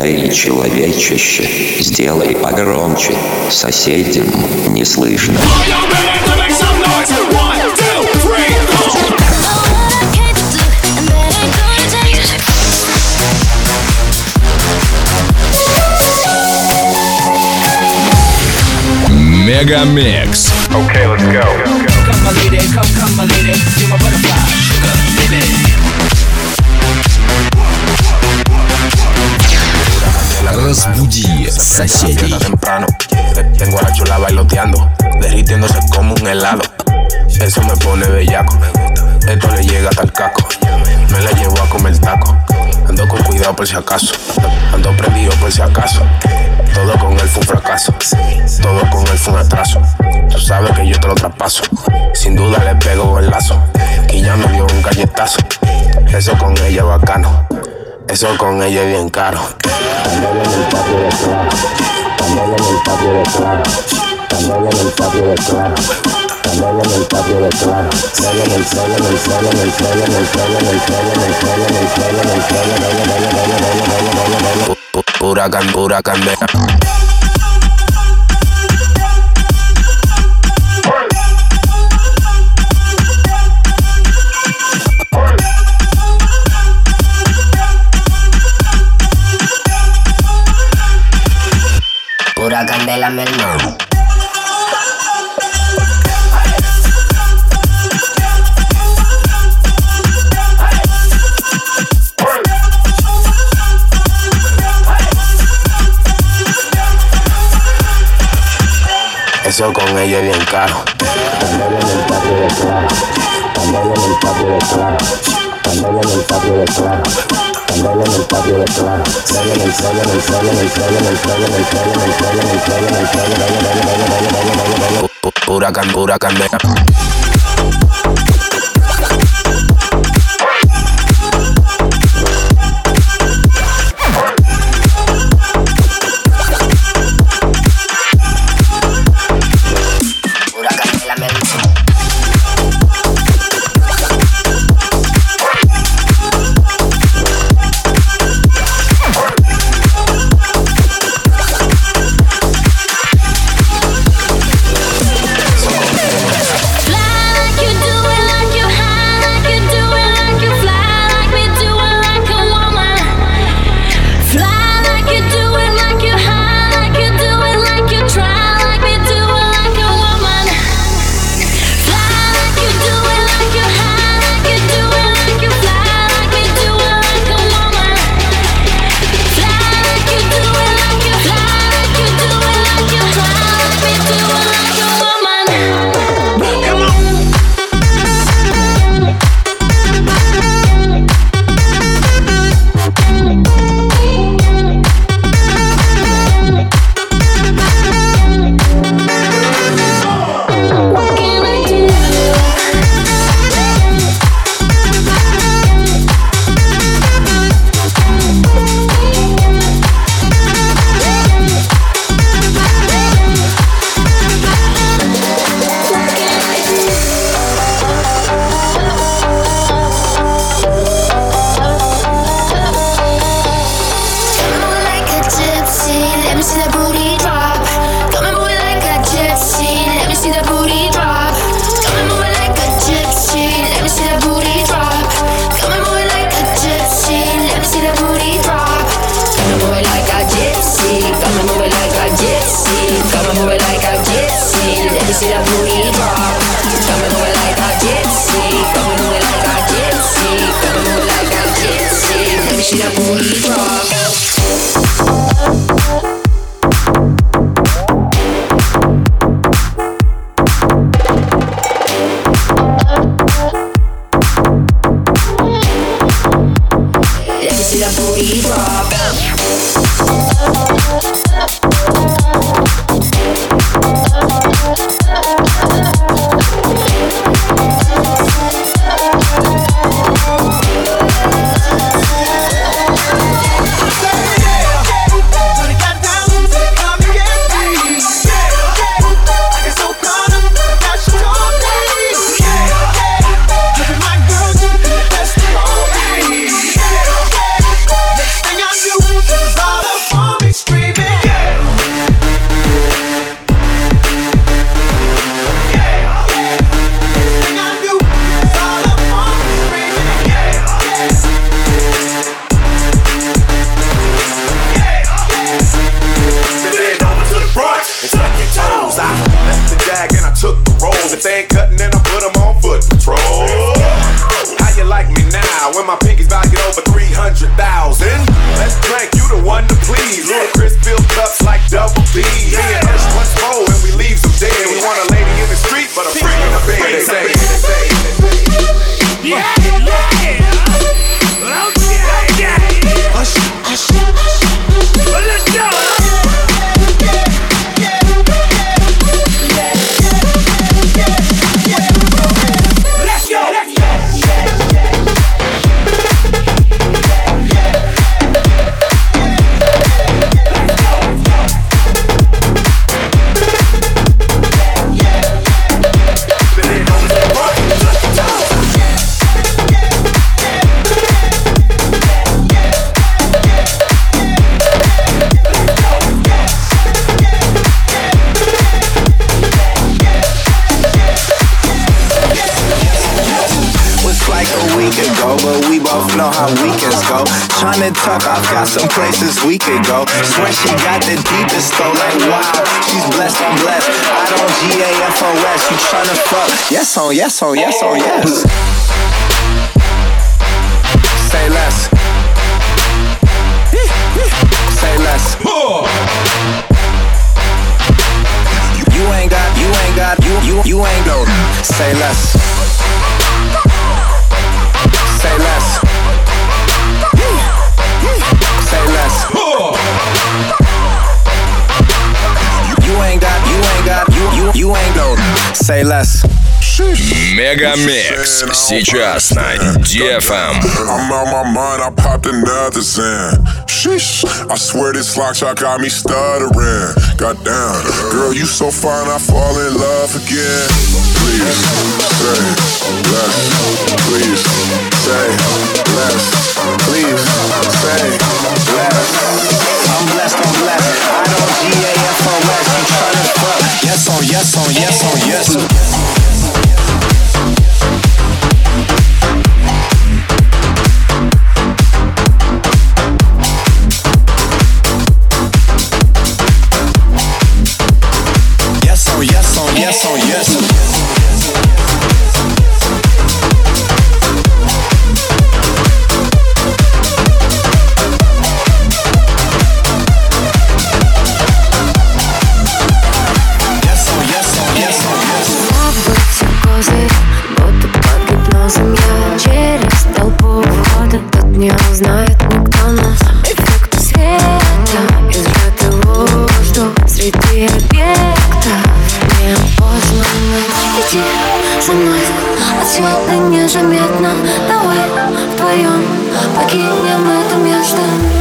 Эй, человечище, сделай погромче, соседям не слышно. Мегамикс. Okay, let's go. Come my lady, come my lady, you're my butterfly, sugar, baby. Разбуди соседей. Temprano, tengo a la chula bailoteando, derritiéndose como un helado. Eso me pone bellaco, esto le llega hasta el casco. Me la llevo a comer taco, ando con cuidado por si acaso, ando prendido por si acaso. Todo con él fue un fracaso, todo con él fue un atraso. Tú sabes que yo te lo traspaso, sin duda le pego el lazo. Que ya me dio un galletazo, eso con ella es bacano, eso con ella es bien caro. Candela en el patio de Clara, candela en el patio de Clara, candela en el patio de Clara, candela en el patio de Clara, candela en el celo, en el celo, en el celo, en el celo, en el celo, en el celo, en el celo, en el celo, pura candela. Pura candela, mi hermano. Eso con ella es bien caro. Candela en el patio de Clara, candela en el patio de Clara, candela en el patio de Clara, candela en el patio de Clara, candela en el celo, en el celo, en el celo, en el celo, en el celo, en el celo, en el celo, en el celo, pura candela. one to please. Ludacris fill cups like double D. Me and Hush once more and we leave them dead. We want a lady in the street, but a freak in the bed. They say. Yeah, yeah. Hush, hush. Well, let's go. But we both know how weekends go. Tryna talk, I've got some places we could go. Swear she got the deepest though, like wow. She's blessed, I'm blessed. I don't GAFOS. You tryna fuck? Yes on, yes on, yes on, yes. Say less. Say less. You ain't got, you ain't go. Say less. Say less. Say less. You ain't got, you ain't go. Say less. Мегамикс сейчас на DFM. I'm out my mind, I popped another Zan. Sheesh, I swear this lock shot got me stuttering. Goddamn, girl, you so fine, I fall in love again. Please, say less. Please, say less. Please, say less. I'm blessed, I'm blessed. I don't GAFOS. You tryna fuck? Yes on, yes on, yes on, yes. Yes on, yes on, yes on, yes. Не узнает никто нас. Эффект света и сжатый воздух среди объектов неопознанных. Иди за мной, отсюда незаметно. Давай вдвоем покинем это место.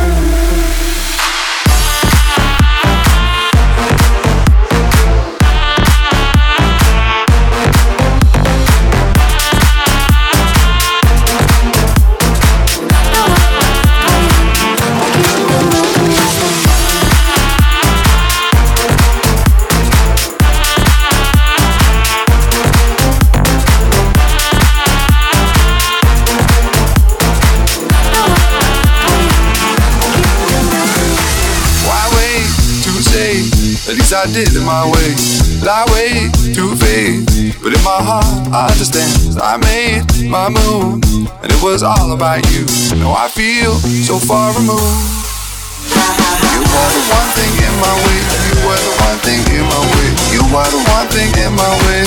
At least I did it my way. Lie way too vague, but in my heart I understand. 'Cause I made my move, and it was all about you. Now I feel so far removed. You were the one thing in my way. You were the one thing in my way. You were the one thing in my way.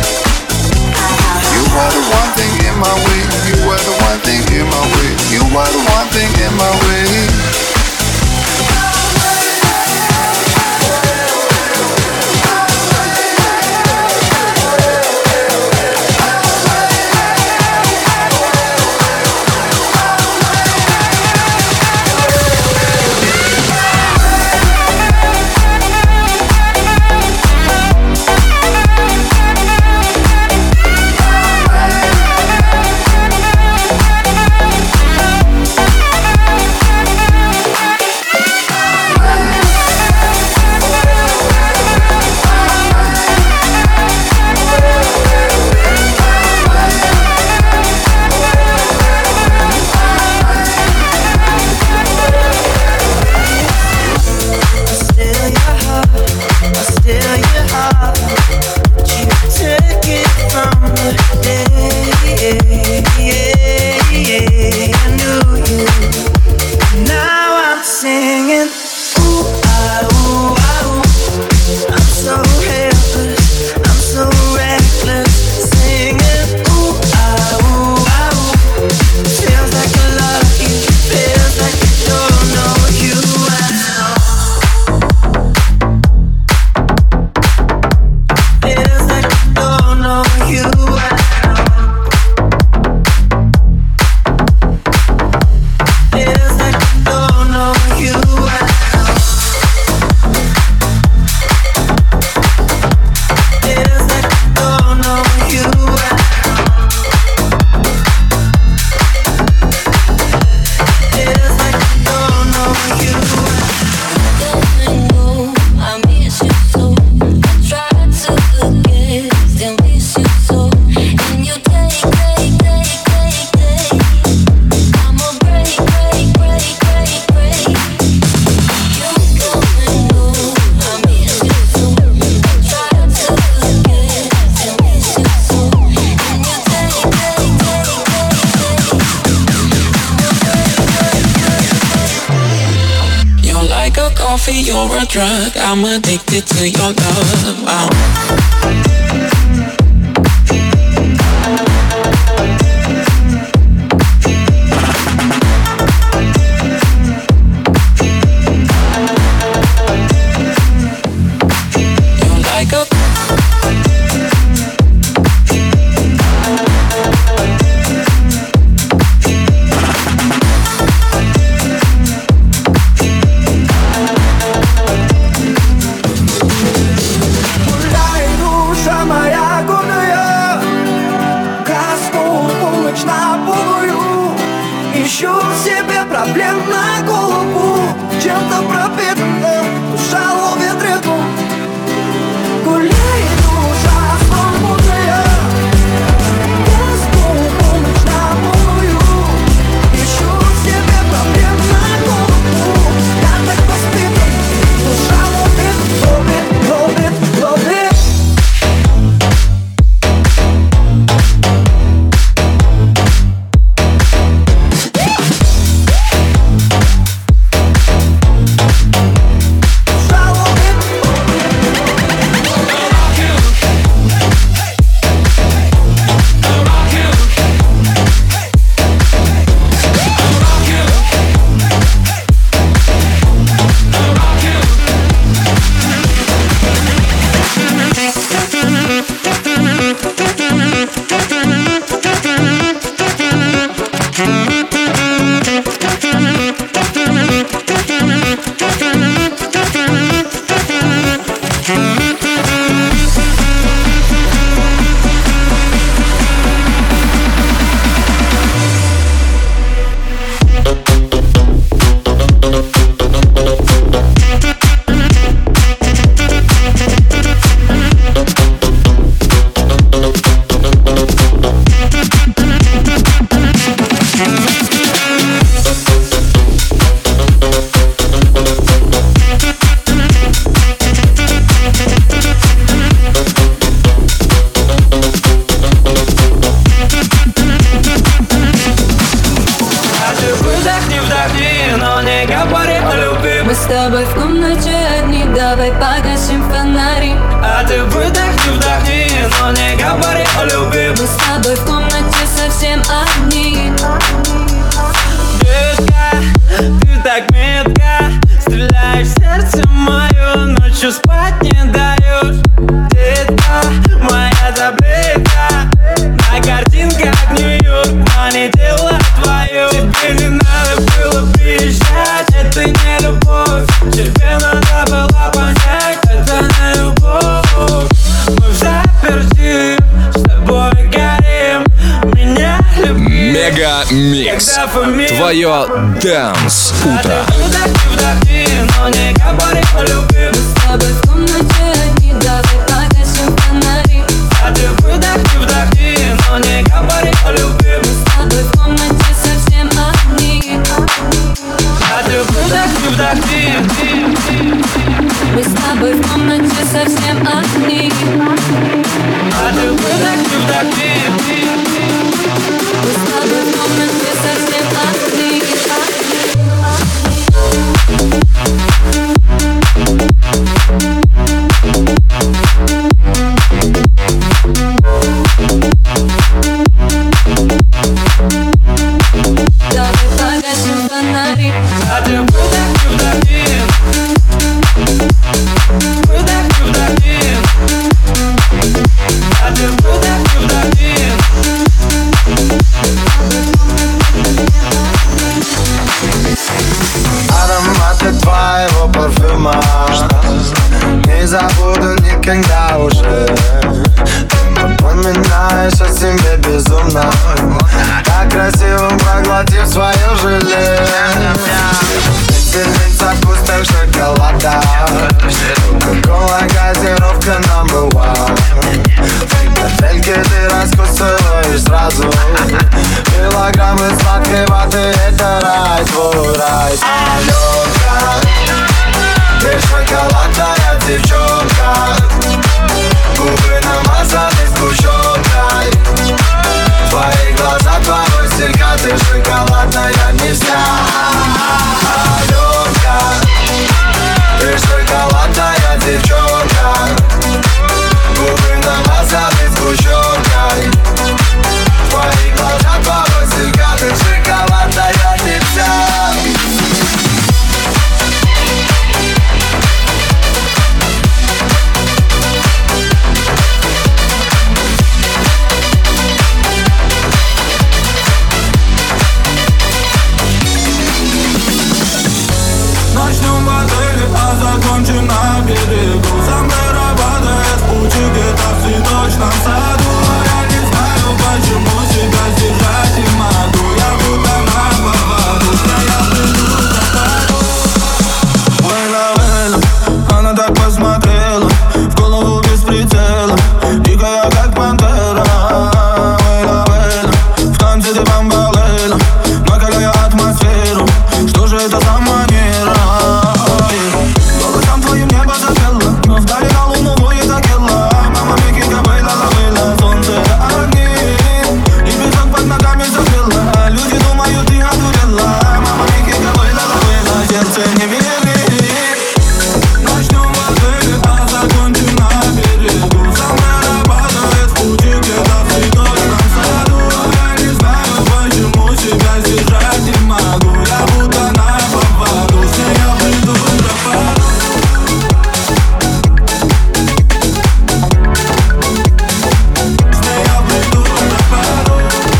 You were the one thing in my way. You were the one thing in my way. You were the one thing in my way. like a coffee, you're a drug. I'm addicted to your love. Wow. Проблем на голову, чем-то пропитана душа ловит ритм. Гуляет душа свободная, газку полночь на полную. Ищу себе проблем на голову, я так воспитан, душа ловит, ловит, ловит, ловит. Мы с тобой в комнате одни, давай погасим фонари. А ты выдохни, вдохни, но не говори о любви. Мы с тобой в комнате совсем одни. Детка, ты так метко стреляешь в сердце мое, ночью спать не даешь. Детка, моя таблетка, на картинках Нью-Йорк, но не дело твое. Тебе не надо было приезжать, это не любовь. Тебе надо было понять, это не любовь. Мы в заперти, с тобой горим, меня люби. Мега Микс. Твое Dance утро. Вдохни, но не говори о любви. Мы с тобой в комнате одни, давай погасим фонари. А ты вдохни, но не говори о любви. Мы с тобой в комнате совсем одни. А ты вдохни. Мы с тобой в комнате совсем одни. А ты вдохни. Мы с тобой в комнате совсем одни. Давай погасим фонари. А ты вдохни. А ты вдохни. Ароматы твоего парфюма не забуду никогда уже. Ты напоминаешь о себе безумно, так красиво проглотив свое желе. Пепельница вкусных шоколада, кока-кола, газировка number one. Коктейльки ты раскусываешь сразу, килограммы сладкой ваты, это рай, твой рай. Аленка, ты шоколадная девчонка, губы намазаны сгущенкой. Твои глаза, твой стилька, ты шоколадная не вся. Аленка, Начнем в отеле, а закончим на берегу. Сомбреро падает в пути где-то в цветочном саду. А я не знаю, почему себя сдержать не могу. Я будто на поводу, что я приду за пару. Вейла, она так посмотрела, в голову без прицела, дикая как пантера. Вейла, в танце ты бомбалейла, накаляя атмосферу. Что же это за манера? Голосом твоим небо запело, но вдали на луну воет Акелла. Мама Мики Кабейла забыла, солнце огни и песок под ногами запела. Люди думают, ты одурела. Мама Мики Кабейла забыла, сердце не верит. Начнем в отеле, а закончим на берегу. Сомбреро падает в пути где-то в цветочном саду. Я не знаю, почему себя сдержать не могу. Я будто на поводу, с ней я приду за пару. С ней я приду за пару.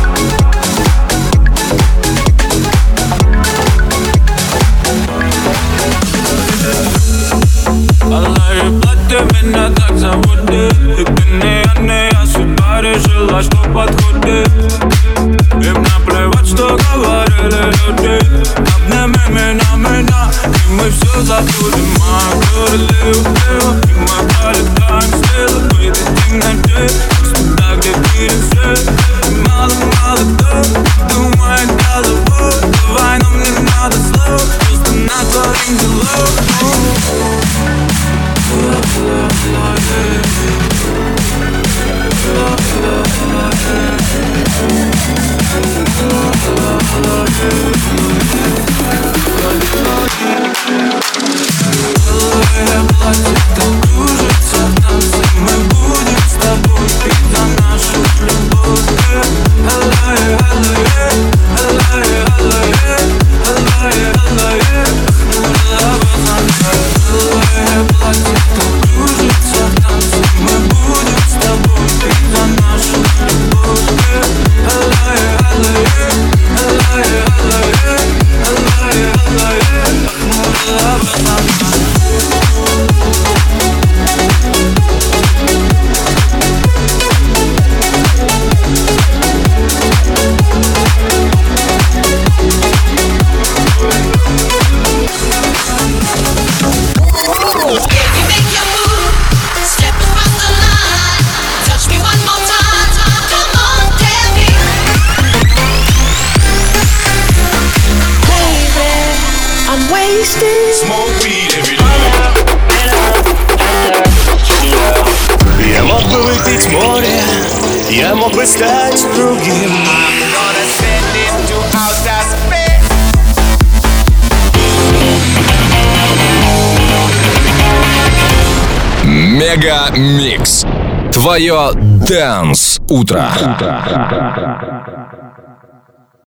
Алые платья меня так заводит. И я судьба решила, что подходит. Им наплевать, что говорили люди. Обними меня, и мы все забудем. Мы говорили, и мы полетаем в стрелы. Выйдет в темноте, туда, где пересвет. Мало кто думает головой. Давай, нам не надо слов, просто натворим делов. Я мог бы выпить море, я мог бы стать другим. Мега Микс. Твое Dance утро.